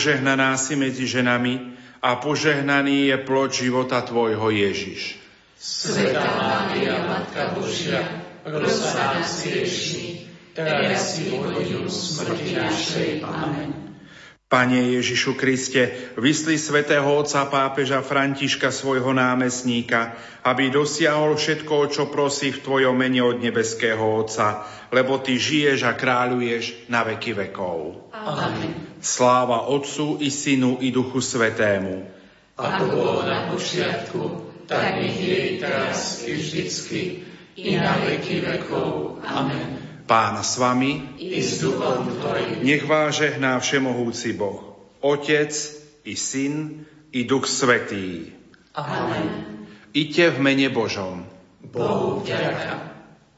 Požehnaná si medzi ženami a požehnaný je plod života tvojho Ježiš. Svätá Mária, Matka Božia, pros za nás hriešnych, teraz i v hodinu smrti našej. Amen. Pane Ježišu Kriste, vysli svätého otca pápeža Františka, svojho námestníka, aby dosiahol všetko, čo prosí v tvojom mene od nebeského Otca, lebo ty žiješ a kráľuješ na veky vekov. Amen. Sláva Otcu i Synu i Duchu Svätému. Ako bolo na počiatku, tak nech je i teraz i vždycky, i na veky vekov. Amen. Pán s vami, I s duchom tvojim. nech vás žehná všemohúci Boh, Otec i Syn i Duch Svätý. Amen. Iďte v mene Božom. Bohu vďaka.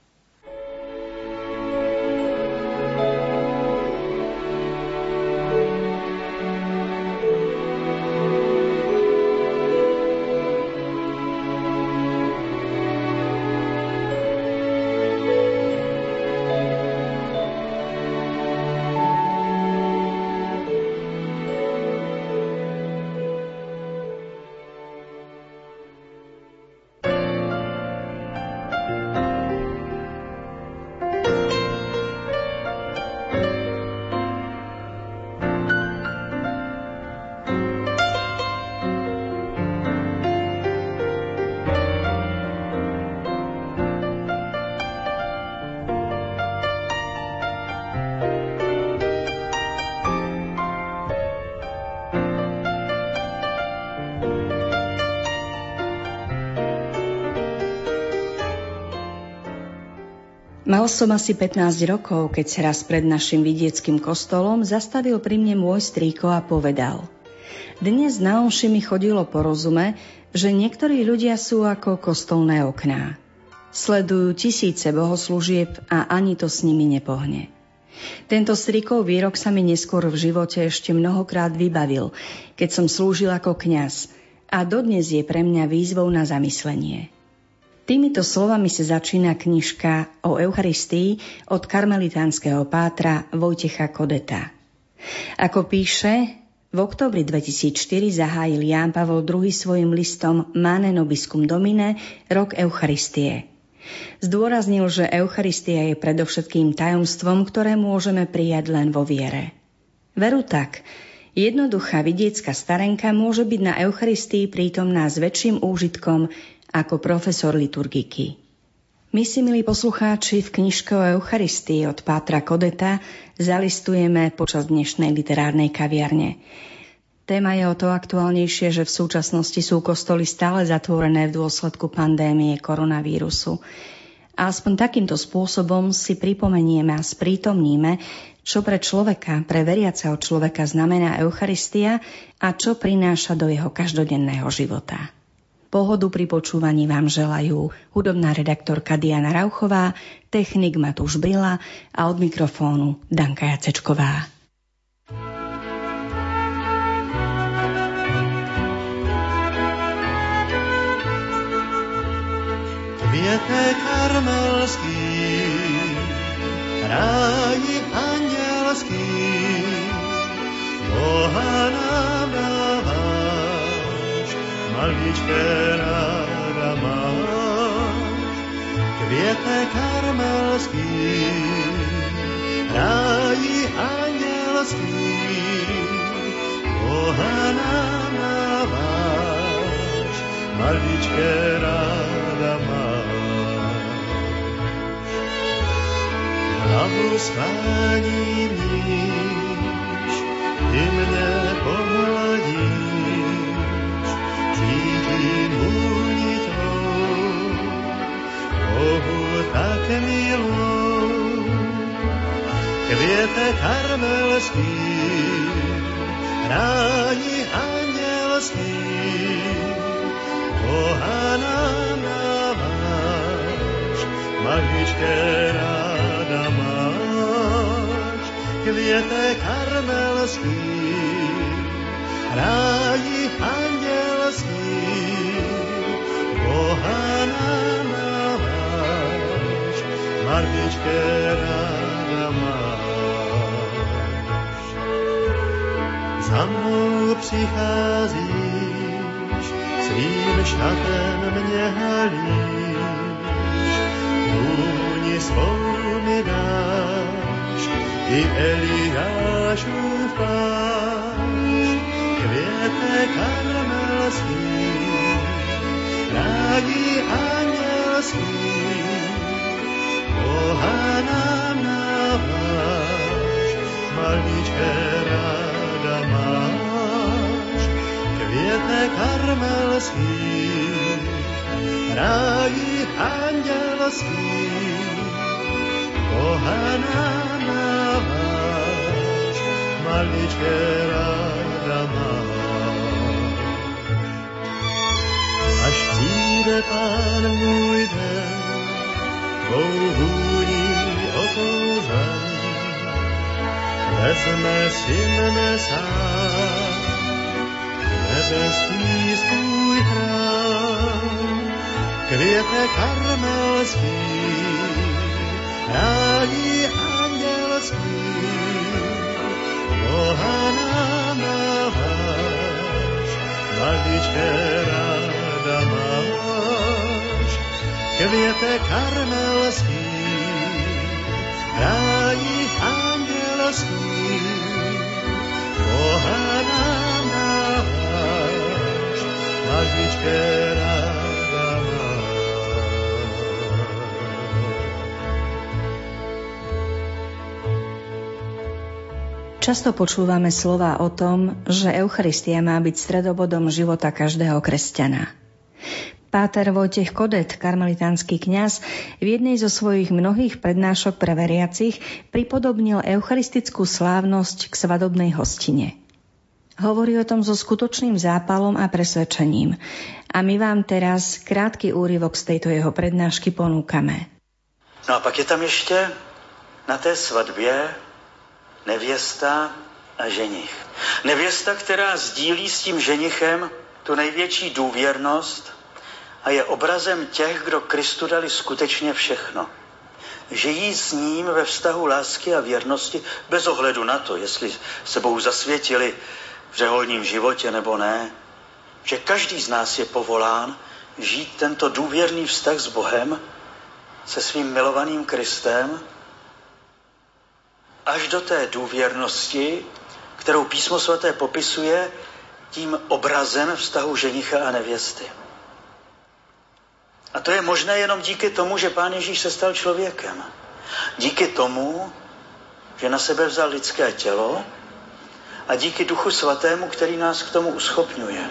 Mal som asi 15 rokov, keď sa raz pred našim vidieckým kostolom zastavil pri mne môj strýko a povedal: Dnes na omši mi chodilo po rozume, že niektorí ľudia sú ako kostolné okná. Sledujú tisíce bohoslúžieb a ani to s nimi nepohne. Tento strýkov výrok sa mi neskôr v živote ešte mnohokrát vybavil, keď som slúžil ako kňaz, a dodnes je pre mňa výzvou na zamyslenie. Týmito slovami sa začína knižka o Eucharistii od karmelitánskeho pátra Vojtecha Kodeta. Ako píše, v októbri 2004 zahájil Ján Pavol II svojim listom Mane Nobiscum Domine rok Eucharistie. Zdôraznil, že Eucharistia je predovšetkým tajomstvom, ktoré môžeme prijať len vo viere. Veru tak, jednoduchá vidiecka starenka môže byť na Eucharistii prítomná s väčším úžitkom ako profesor liturgiky. My si, milí poslucháči, v knižke o Eucharistii od pátra Kodeta zalistujeme počas dnešnej literárnej kaviarne. Téma je o to aktuálnejšie, že v súčasnosti sú kostoly stále zatvorené v dôsledku pandémie koronavírusu. A aspoň takýmto spôsobom si pripomenieme a sprítomníme, čo pre človeka, pre veriaceho človeka znamená Eucharistia a čo prináša do jeho každodenného života. Pohodu pri počúvaní vám želajú hudobná redaktorka Diana Rauchová, technik Matúš Brila a od mikrofónu Danka Jacečková. Květek karmelský, ráji andělský, Boha nám dáváš, maličké ráda máš. Květek karmelský, ráji andělský, Boha nám dáváš, maličké ráda máš. Hlavu schvání níž, ty mne pohladíš, cítím vůni tvou, Bohu tak milou. Květek karmelský, ráji andělský, Boha nám dáváš, maličké ráda máš. Květek karmelský, ráji andělský, Boha nám dáváš, maličké ráda máš. za mnou přicházíš, svým šatem mě halíš, vůni svou mi dáš, i Eliášův plášť, květek karmelský, rádi andělský, Boha nám dáváš, maličké ráda máš, květek karmelský, rádi andělský, Boha nám dáváš, maličké ráda máš. Až přijde Pán můj den, tvou vůní okouřen, vezme si mne sám, nebeský svůj chrám, květek karmelský, rádi andělský, Boha nám dáváš, maličké ráda máš, květek karmelský, rádi andělský, Boha nám dáváš, maličké ráda máš. Často počúvame slová o tom, že Eucharistia má byť stredobodom života každého kresťana. Páter Vojtech Kodet, karmelitánsky kňaz, v jednej zo svojich mnohých prednášok pre veriacich pripodobnil eucharistickú slávnosť k svadobnej hostine. Hovorí o tom so skutočným zápalom a presvedčením. A my vám teraz krátky úryvok z tejto jeho prednášky ponúkame. No a pak je tam ještě na té svatbě nevěsta a ženich. Nevěsta, která sdílí s tím ženichem tu největší důvěrnost a je obrazem těch, kdo Kristu dali skutečně všechno. Žijí s ním ve vztahu lásky a věrnosti bez ohledu na to, jestli se Bohu zasvětili v řeholním životě nebo ne. Že každý z nás je povolán žít tento důvěrný vztah s Bohem, se svým milovaným Kristem, až do té důvěrnosti, kterou Písmo svaté popisuje tím obrazem vztahu ženicha a nevěsty. A to je možné jenom díky tomu, že Pán Ježíš se stal člověkem. Díky tomu, že na sebe vzal lidské tělo a díky Duchu svatému, který nás k tomu uschopňuje.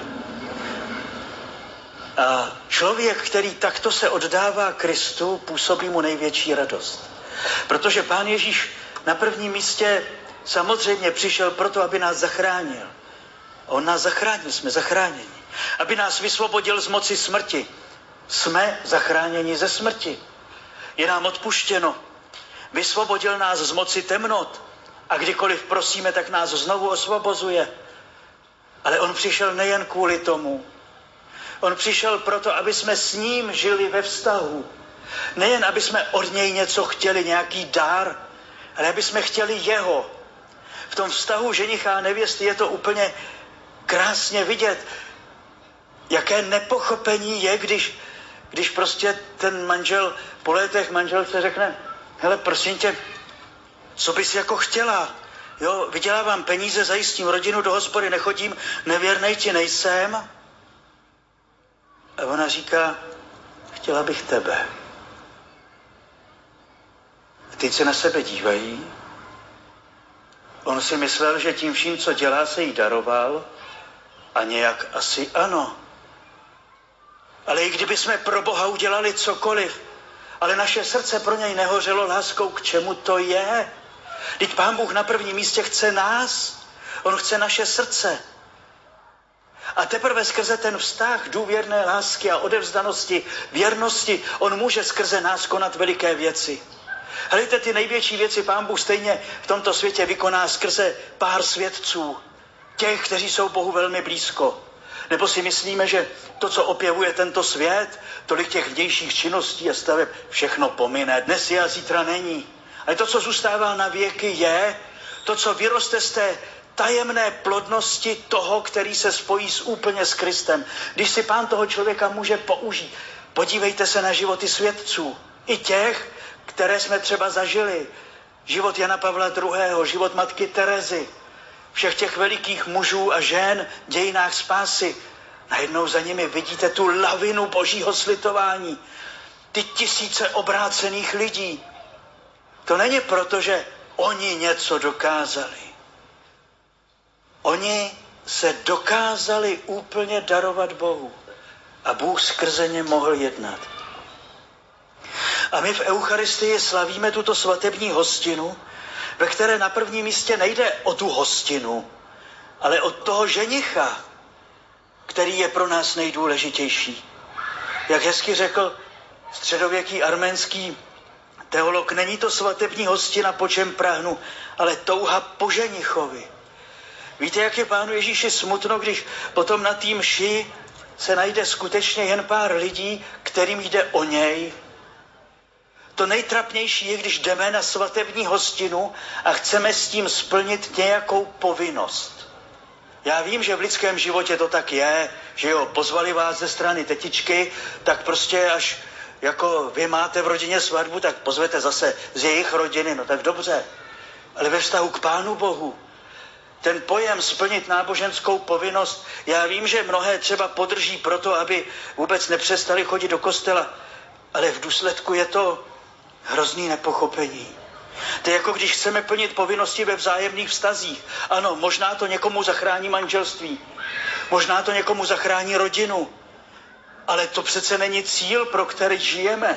A člověk, který takto se oddává Kristu, působí mu největší radost. Protože Pán Ježíš na prvním místě samozřejmě přišel proto, aby nás zachránil. On nás zachránil, jsme zachráněni. Aby nás vysvobodil z moci smrti. Jsme zachráněni ze smrti. Je nám odpuštěno. Vysvobodil nás z moci temnot. A kdykoliv prosíme, tak nás znovu osvobozuje. Ale on přišel nejen kvůli tomu. On přišel proto, aby jsme s ním žili ve vztahu. Nejen, aby jsme od něj něco chtěli, nějaký dar, ale aby jsme chtěli jeho. V tom vztahu ženicha a nevěsty je to úplně krásně vidět, jaké nepochopení je, když prostě ten manžel po letech manželce řekne: hele, prosím tě, co bys jako chtěla? Jo, vydělávám peníze, zajistím rodinu, do hospody nechodím, nevěrnej ti nejsem. A ona říká: chtěla bych tebe. A teď se na sebe dívají. On si myslel, že tím vším, co dělá, se jí daroval. A nějak asi ano. Ale i kdyby jsme pro Boha udělali cokoliv, ale naše srdce pro něj nehořelo láskou, k čemu to je? Vždyť Pán Bůh na prvním místě chce nás. On chce naše srdce. A teprve skrze ten vztah důvěrné lásky a odevzdanosti, věrnosti, on může skrze nás konat veliké věci. Hledajte, ty největší věci Pán Bůh stejně v tomto světě vykoná skrze pár svědců. Těch, kteří jsou Bohu velmi blízko. Nebo si myslíme, že to, co opěvuje tento svět, tolik těch vnějších činností a staveb, všechno pomine. Dnes je a zítra není. Ale to, co zůstává na věky, je to, co vyroste z té tajemné plodnosti toho, který se spojí úplně s Kristem. Když si Pán toho člověka může použít. Podívejte se na životy svědců. I těch, které jsme třeba zažili. Život Jana Pavla II., život matky Terezy. Všech těch velikých mužů a žen v dějinách spásy. Najednou za nimi vidíte tu lavinu božího slitování. Ty tisíce obrácených lidí. To není proto, že oni něco dokázali. Oni se dokázali úplně darovat Bohu. A Bůh skrze ně mohl jednat. A my v Eucharistii slavíme tuto svatební hostinu, ve které na prvním místě nejde o tu hostinu, ale o toho ženicha, který je pro nás nejdůležitější. Jak hezky řekl středověký arménský teolog, není to svatební hostina, po čem prahnu, ale touha po ženichovi. Víte, jak je Pánu Ježíši smutno, když potom na té mši se najde skutečně jen pár lidí, kterým jde o něj. To nejtrapnější je, když jdeme na svatební hostinu a chceme s tím splnit nějakou povinnost. Já vím, že v lidském životě to tak je, že jo, pozvali vás ze strany tetičky, tak prostě až jako vy máte v rodině svatbu, tak pozvete zase z jejich rodiny, no tak dobře. Ale ve vztahu k Pánu Bohu, ten pojem splnit náboženskou povinnost, já vím, že mnohé třeba podrží proto, aby vůbec nepřestali chodit do kostela, ale v důsledku je to hrozný nepochopení. To je jako když chceme plnit povinnosti ve vzájemných vztazích. Ano, možná to někomu zachrání manželství, možná to někomu zachrání rodinu, ale to přece není cíl, pro který žijeme.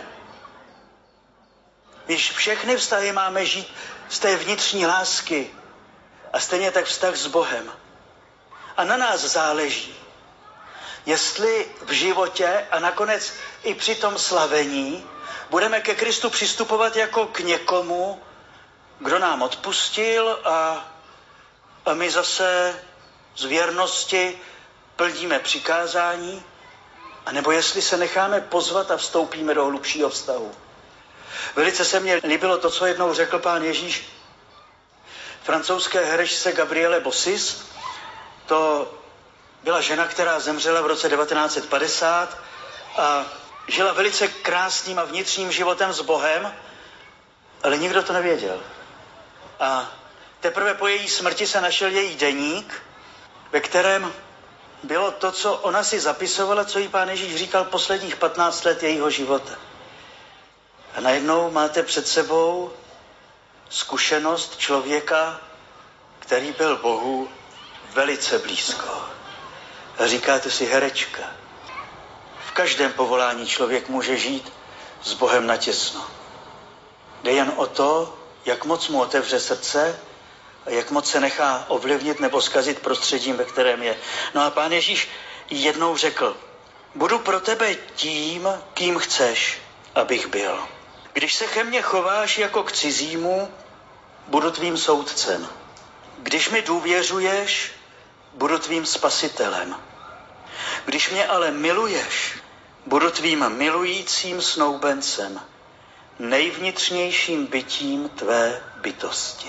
Když všechny vztahy máme žít z té vnitřní lásky a stejně tak vztah s Bohem. A na nás záleží, jestli v životě a nakonec i při tom slavení budeme ke Kristu přistupovat jako k někomu, kdo nám odpustil a my zase z věrnosti plníme přikázání, anebo jestli se necháme pozvat a vstoupíme do hlubšího vztahu. Velice se mně líbilo to, co jednou řekl Pán Ježíš francouzské herečce Gabriele Bossis. To byla žena, která zemřela v roce 1950 a žila velice krásným a vnitřním životem s Bohem, ale nikdo to nevěděl. A teprve po její smrti se našel její deník, ve kterém bylo to, co ona si zapisovala, co jí Pán Ježíš říkal posledních 15 let jejího života. A najednou máte před sebou zkušenost člověka, který byl Bohu velice blízko. A říkáte si, herečka, v každém povolání člověk může žít s Bohem natěsno. Jde jen o to, jak moc mu otevře srdce a jak moc se nechá ovlivnit nebo zkazit prostředím, ve kterém je. No a Pán Ježíš jednou řekl, budu pro tebe tím, kým chceš, abych byl. Když se ke mně chováš jako k cizímu, budu tvým soudcem. Když mi důvěřuješ, budu tvým spasitelem. Když mě ale miluješ, budu tvým milujícím snoubencem, nejvnitřnějším bytím tvé bytosti.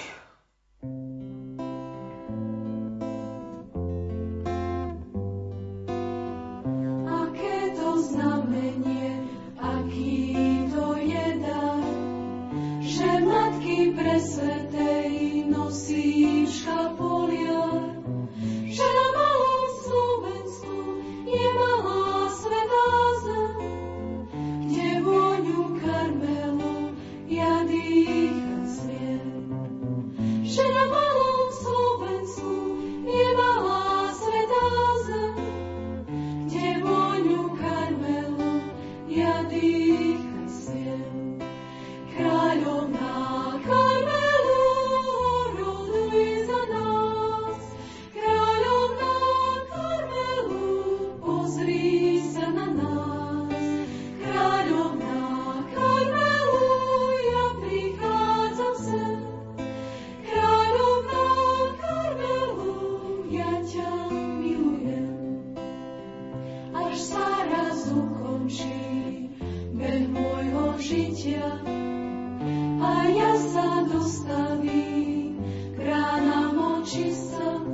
Aké to znamenie, aký to je dar, že matky presvätej nosí škapoliar, že na malom Slovensku je malá svätá zem, kde vôňu Karmelu ja dýchať smiem. Že na malom Slovensku je malá svätá zem, kde vôňu Karmelu ja dýchať smiem. Kráľovná Karmelu, oroduj za nás. Kráľovná Karmelu, pozri sa na nás. Kráľovná Karmelu, ja prichádzam sem. Kráľovná Karmelu, ja ťa milujem. Až sa raz ukončí beh môjho žitia, a ja sa dostavím k ránam očistca.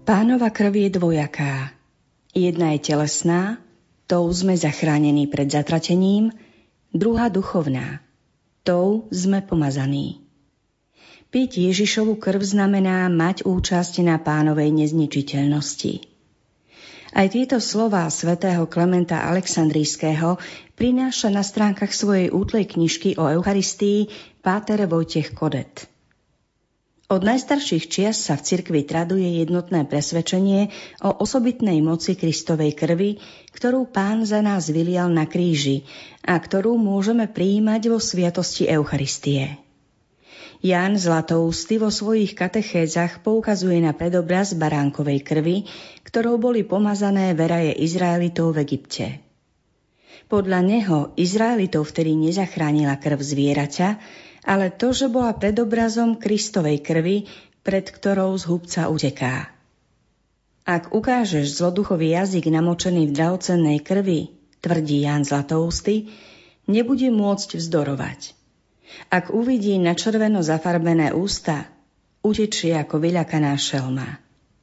Pánova krv je dvojaká. Jedna je telesná, tou sme zachránení pred zatratením, druhá duchovná, tou sme pomazaní. Piť Ježišovu krv znamená mať účasť na Pánovej nezničiteľnosti. Aj tieto slová svätého Klementa Alexandrijského prináša na stránkach svojej útlej knižky o Eucharistii páter Vojtech Kodet. Od najstarších čias sa v cirkvi traduje jednotné presvedčenie o osobitnej moci Kristovej krvi, ktorú Pán za nás vylial na kríži a ktorú môžeme prijímať vo sviatosti Eucharistie. Ján Zlatoústy vo svojich katechézach poukazuje na predobraz baránkovej krvi, ktorou boli pomazané veraje Izraelitov v Egypte. Podľa neho Izraelitov vtedy nezachránila krv zvieraťa, ale to, že bola predobrazom Kristovej krvi, pred ktorou z hubca uteká. Ak ukážeš zloduchový jazyk namočený v drahocennej krvi, tvrdí Ján Zlatoústy, nebude môcť vzdorovať. Ak uvidí na červeno zafarbené ústa, utečie ako vyľakaná šelma.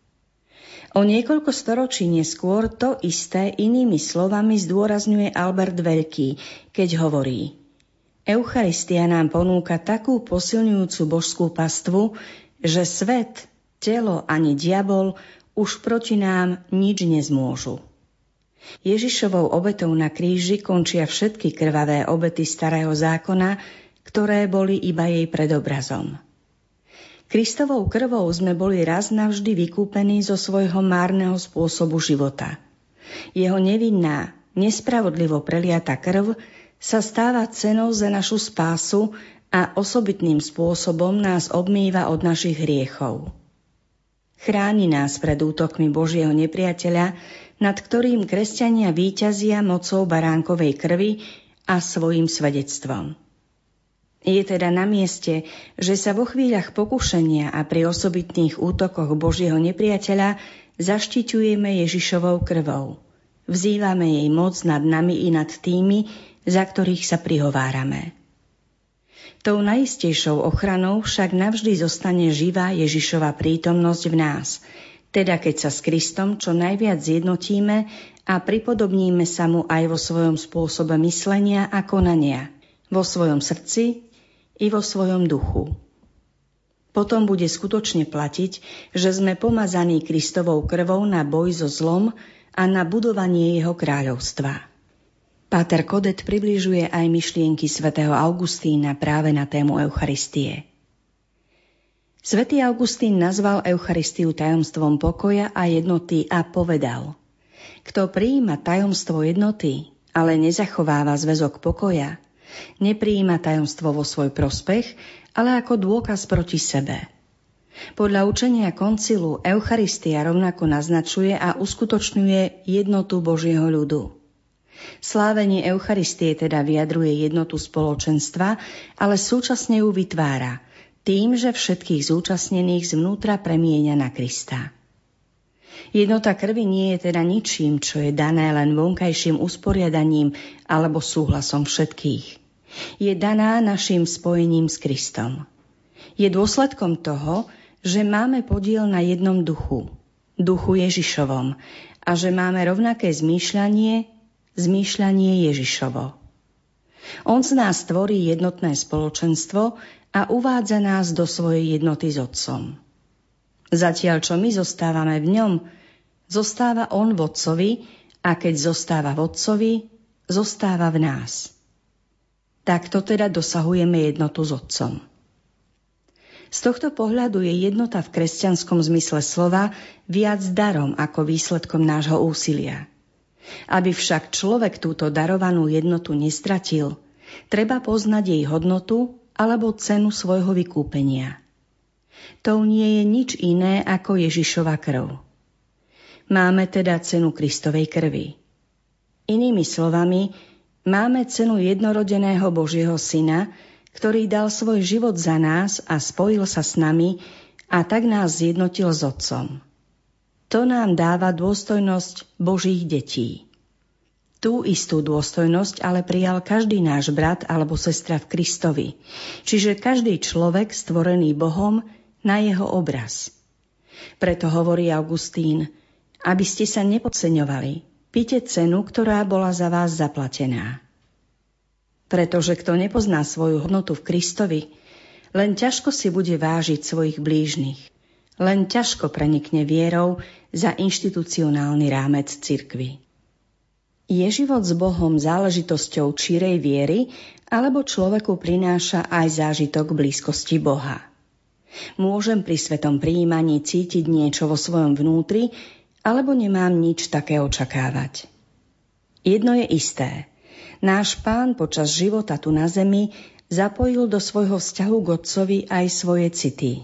O niekoľko storočí neskôr to isté inými slovami zdôrazňuje Albert Veľký, keď hovorí: Eucharistia nám ponúka takú posilňujúcu božskú pastvu, že svet, telo ani diabol už proti nám nič nezmôžu. Ježišovou obetou na kríži končia všetky krvavé obety starého zákona, ktoré boli iba jej predobrazom. Kristovou krvou sme boli raz navždy vykúpení zo svojho márneho spôsobu života. Jeho nevinná, nespravodlivo preliata krv sa stáva cenou za našu spásu a osobitným spôsobom nás obmýva od našich hriechov. Chráni nás pred útokmi Božieho nepriateľa, nad ktorým kresťania víťazia mocou baránkovej krvi a svojím svedectvom. Je teda na mieste, že sa vo chvíľach pokušenia a pri osobitných útokoch Božieho nepriateľa zaštiťujeme Ježišovou krvou. Vzývame jej moc nad nami i nad tými, za ktorých sa prihovárame. Tou najistejšou ochranou však navždy zostane živá Ježišova prítomnosť v nás, teda keď sa s Kristom čo najviac zjednotíme a pripodobníme sa mu aj vo svojom spôsobe myslenia a konania, vo svojom srdci i vo svojom duchu. Potom bude skutočne platiť, že sme pomazaní Kristovou krvou na boj so zlom a na budovanie jeho kráľovstva. Páter Kodet približuje aj myšlienky svätého Augustína práve na tému Eucharistie. Svätý Augustín nazval Eucharistiu tajomstvom pokoja a jednoty a povedal: Kto prijíma tajomstvo jednoty, ale nezachováva zväzok pokoja, neprijíma tajomstvo vo svoj prospech, ale ako dôkaz proti sebe. Podľa učenia koncilu Eucharistia rovnako naznačuje a uskutočňuje jednotu Božieho ľudu. Slávenie Eucharistie teda vyjadruje jednotu spoločenstva, ale súčasne ju vytvára tým, že všetkých zúčastnených zvnútra premieňa na Krista. Jednota krvi nie je teda ničím, čo je dané len vonkajším usporiadaním alebo súhlasom všetkých. Je daná našim spojením s Kristom. Je dôsledkom toho, že máme podiel na jednom duchu, duchu Ježišovom, a že máme rovnaké zmýšľanie Ježišovo. On z nás tvorí jednotné spoločenstvo a uvádza nás do svojej jednoty s Otcom. Zatiaľ, čo my zostávame v ňom, zostáva on v Otcovi, a keď zostáva v Otcovi, zostáva v nás. Takto teda dosahujeme jednotu s Otcom. Z tohto pohľadu je jednota v kresťanskom zmysle slova viac darom ako výsledkom nášho úsilia. Aby však človek túto darovanú jednotu nestratil, treba poznať jej hodnotu alebo cenu svojho vykúpenia. To nie je nič iné ako Ježišova krv. Máme teda cenu Kristovej krvi. Inými slovami, máme cenu jednorodeného Božieho Syna, ktorý dal svoj život za nás a spojil sa s nami a tak nás zjednotil s Otcom. To nám dáva dôstojnosť Božích detí. Tú istú dôstojnosť ale prijal každý náš brat alebo sestra v Kristovi, čiže každý človek stvorený Bohom na jeho obraz. Preto hovorí Augustín, aby ste sa nepodceňovali, píte cenu, ktorá bola za vás zaplatená. Pretože kto nepozná svoju hodnotu v Kristovi, len ťažko si bude vážiť svojich blížnych. Len ťažko prenikne vierou za inštitucionálny rámec cirkvi. Je život s Bohom záležitosťou čírej viery, alebo človeku prináša aj zážitok blízkosti Boha? Môžem pri svetom prijímaní cítiť niečo vo svojom vnútri, alebo nemám nič také očakávať? Jedno je isté. Náš Pán počas života tu na zemi zapojil do svojho vzťahu k Otcovi aj svoje city.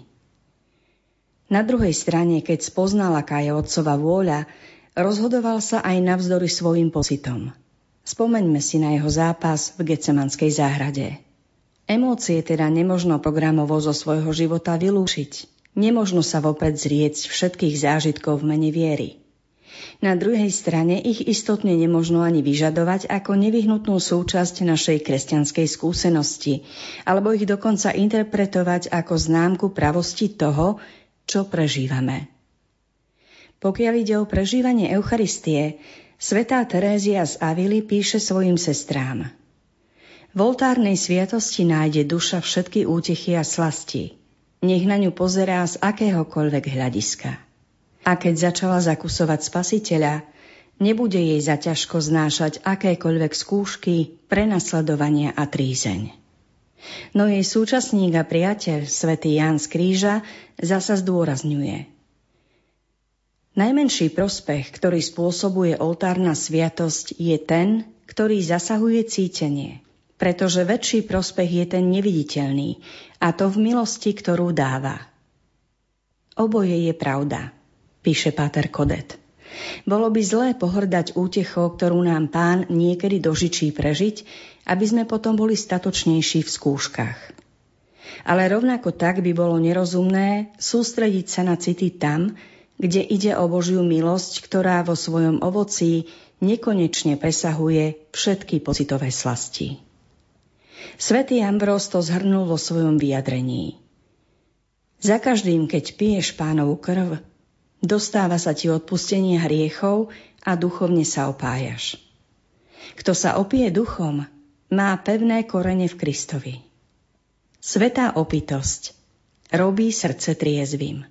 Na druhej strane, keď spoznal, aká je Otcova vôľa, rozhodoval sa aj navzdory svojim pocitom. Spomeňme si na jeho zápas v Getsemanskej záhrade. Emócie teda nemožno programovo zo svojho života vylúčiť. Nemožno sa vopred zrieť všetkých zážitkov v mene viery. Na druhej strane ich istotne nemožno ani vyžadovať ako nevyhnutnú súčasť našej kresťanskej skúsenosti, alebo ich dokonca interpretovať ako známku pravosti toho, čo prežívame. Pokiaľ ide o prežívanie Eucharistie, svätá Terézia z Avily píše svojim sestrám: v oltárnej sviatosti nájde duša všetky útechy a slasti. Nech na ňu pozerá z akéhokoľvek hľadiska. A keď začala zakusovať Spasiteľa, nebude jej zaťažko znášať akékoľvek skúšky, prenasledovania a trízeň. No jej súčasník a priateľ, svätý Ján z Kríža, zasa zdôrazňuje: najmenší prospech, ktorý spôsobuje oltárna sviatosť, je ten, ktorý zasahuje cítenie, pretože väčší prospech je ten neviditeľný, a to v milosti, ktorú dáva. Oboje je pravda, píše páter Kodet. Bolo by zlé pohrdať útechou, ktorú nám Pán niekedy dožičí prežiť, aby sme potom boli statočnejší v skúškach. Ale rovnako tak by bolo nerozumné sústrediť sa na city tam, kde ide o Božiu milosť, ktorá vo svojom ovocí nekonečne presahuje všetky pocitové slasti. Svätý Ambrós to zhrnul vo svojom vyjadrení. Za každým, keď piješ Pánovu krv, dostáva sa ti odpustenie hriechov a duchovne sa opájaš. Kto sa opije duchom, má pevné korene v Kristovi. Svätá opitosť robí srdce triezvym.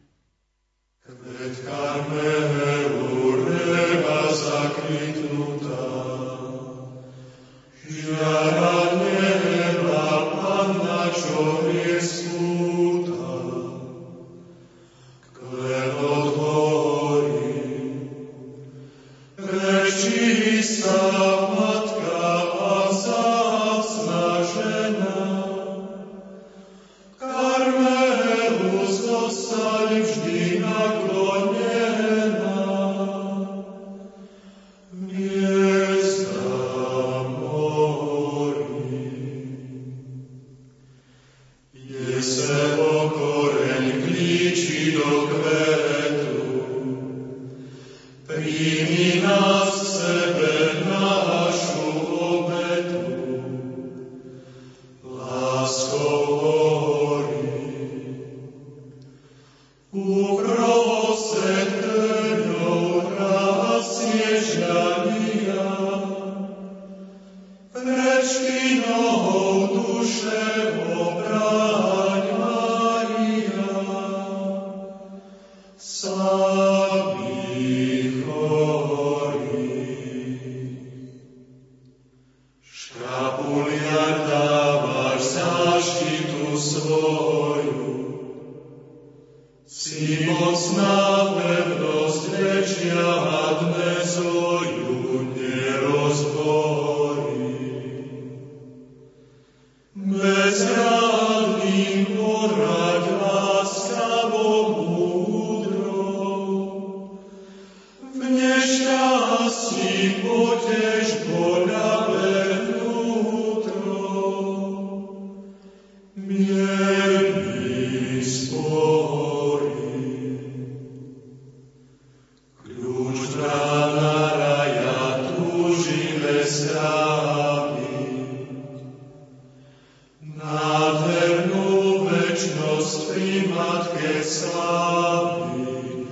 Nádhernú večnosť pri Matke slávy.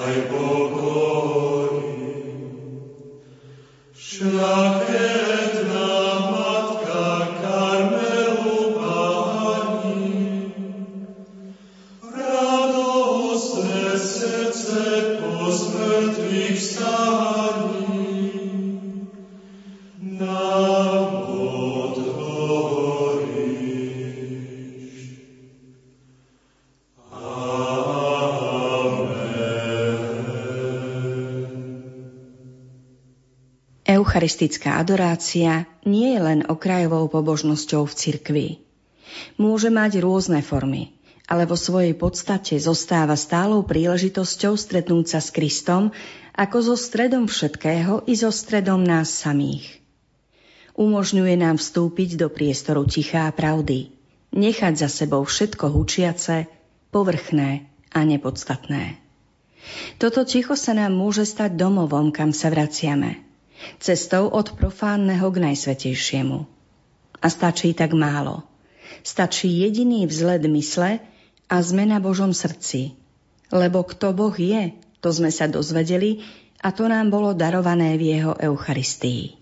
Eucharistická adorácia nie je len okrajovou pobožnosťou v cirkvi. Môže mať rôzne formy, ale vo svojej podstate zostáva stálou príležitosťou stretnúť sa s Kristom ako so stredom všetkého i so stredom nás samých. Umožňuje nám vstúpiť do priestoru ticha a pravdy, nechať za sebou všetko hučiace, povrchné a nepodstatné. Toto ticho sa nám môže stať domovom, kam sa vraciame, cestou od profánneho k najsvätejšiemu. A stačí tak málo. Stačí jediný vzhled mysle a sme na Božom srdci. Lebo kto Boh je, to sme sa dozvedeli a to nám bolo darované v jeho Eucharistii.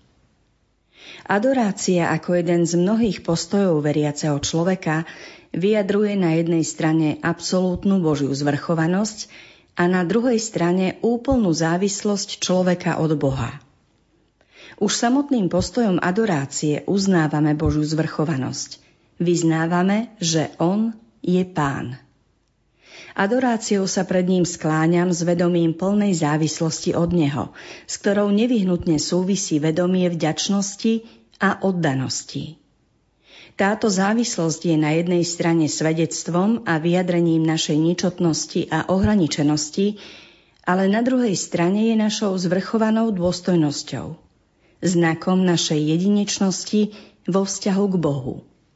Adorácia ako jeden z mnohých postojov veriaceho človeka vyjadruje na jednej strane absolútnu Božiu zvrchovanosť a na druhej strane úplnú závislosť človeka od Boha. Už samotným postojom adorácie uznávame Božiu zvrchovanosť. Vyznávame, že On je Pán. Adoráciou sa pred ním skláňam s vedomím plnej závislosti od Neho, s ktorou nevyhnutne súvisí vedomie vďačnosti a oddanosti. Táto závislosť je na jednej strane svedectvom a vyjadrením našej ničotnosti a ohraničenosti, ale na druhej strane je našou zvrchovanou dôstojnosťou, znakom našej jedinečnosti vo vzťahu k Bohu.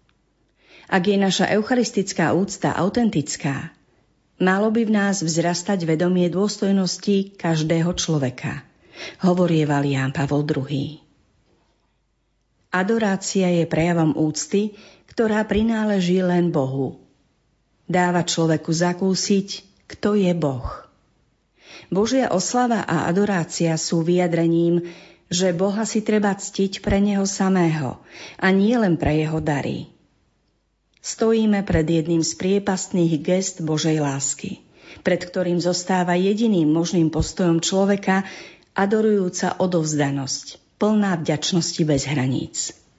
Ak je naša eucharistická úcta autentická, malo by v nás vzrastať vedomie dôstojnosti každého človeka, hovorieval Ján Pavol II. Adorácia je prejavom úcty, ktorá prináleží len Bohu. Dáva človeku zakúsiť, kto je Boh. Božia oslava a adorácia sú vyjadrením, že Boha si treba ctiť pre Neho samého a nie len pre Jeho dary. Stojíme pred jedným z priepastných gest Božej lásky, pred ktorým zostáva jediným možným postojom človeka adorujúca odovzdanosť, plná vďačnosti bez hraníc.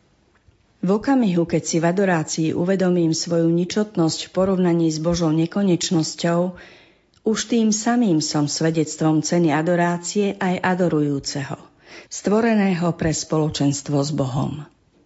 V okamihu, keď si v adorácii uvedomím svoju ničotnosť v porovnaní s Božou nekonečnosťou, už tým samým som svedectvom ceny adorácie aj adorujúceho, stvoreného pre spoločenstvo s Bohom.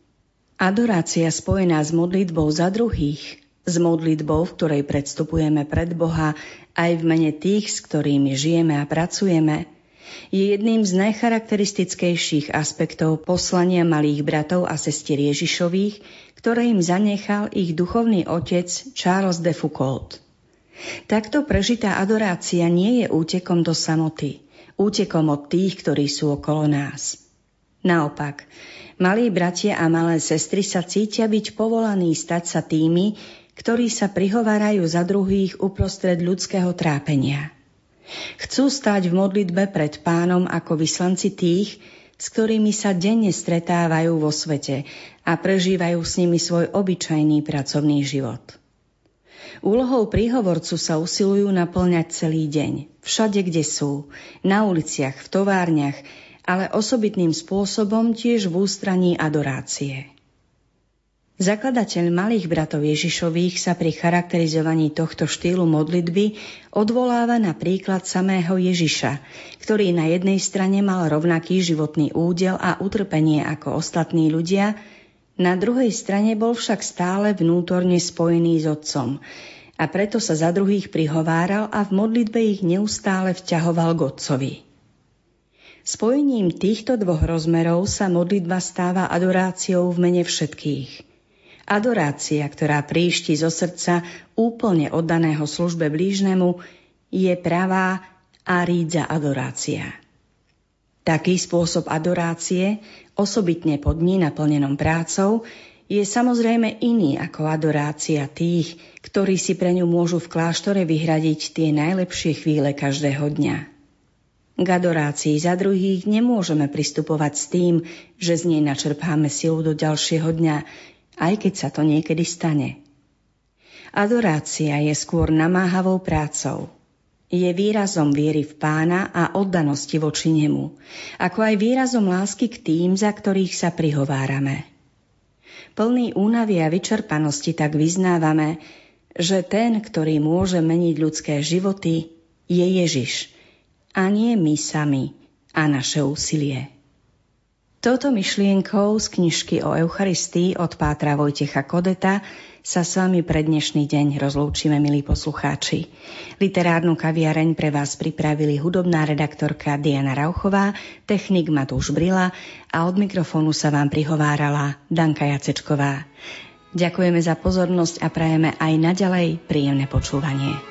Adorácia spojená s modlitbou za druhých, s modlitbou, v ktorej predstupujeme pred Boha aj v mene tých, s ktorými žijeme a pracujeme, je jedným z najcharakteristickejších aspektov poslania malých bratov a sestier Ježišových, ktoré im zanechal ich duchovný otec Charles de Foucault. Takto prežitá adorácia nie je útekom do samoty, útekom od tých, ktorí sú okolo nás. Naopak, malí bratia a malé sestry sa cítia byť povolaní stať sa tými, ktorí sa prihovárajú za druhých uprostred ľudského trápenia. Chcú stáť v modlitbe pred Pánom ako vyslanci tých, s ktorými sa denne stretávajú vo svete a prežívajú s nimi svoj obyčajný pracovný život. Úlohou príhovorcu sa usilujú naplňať celý deň, všade, kde sú, na uliciach, v továrniach, ale osobitným spôsobom tiež v ústraní adorácie. Zakladateľ malých bratov Ježišových sa pri charakterizovaní tohto štýlu modlitby odvoláva na príklad samého Ježiša, ktorý na jednej strane mal rovnaký životný údel a utrpenie ako ostatní ľudia, na druhej strane bol však stále vnútorne spojený s Otcom a preto sa za druhých prihováral a v modlitbe ich neustále vťahoval k Otcovi. Spojením týchto dvoch rozmerov sa modlitba stáva adoráciou v mene všetkých. Adorácia, ktorá príšti zo srdca úplne oddaného službe blížnemu, je pravá a rídza adorácia. Taký spôsob adorácie, osobitne po dni naplnenom prácou, je samozrejme iný ako adorácia tých, ktorí si pre ňu môžu v kláštore vyhradiť tie najlepšie chvíle každého dňa. K adorácii za druhých nemôžeme pristupovať s tým, že z nej načerpáme silu do ďalšieho dňa, aj keď sa to niekedy stane. Adorácia je skôr namáhavou prácou. Je výrazom viery v Pána a oddanosti voči nemu, ako aj výrazom lásky k tým, za ktorých sa prihovárame. Plný únavy a vyčerpanosti tak vyznávame, že ten, ktorý môže meniť ľudské životy, je Ježiš, a nie my sami a naše úsilie. Touto myšlienkou z knižky o Eucharistii od pátra Vojtecha Kodeta sa s vami pre dnešný deň rozlúčime, milí poslucháči. Literárnu kaviareň pre vás pripravili hudobná redaktorka Diana Rauchová, technik Matúš Brila a od mikrofónu sa vám prihovárala Danka Jacečková. Ďakujeme za pozornosť a prajeme aj naďalej príjemné počúvanie.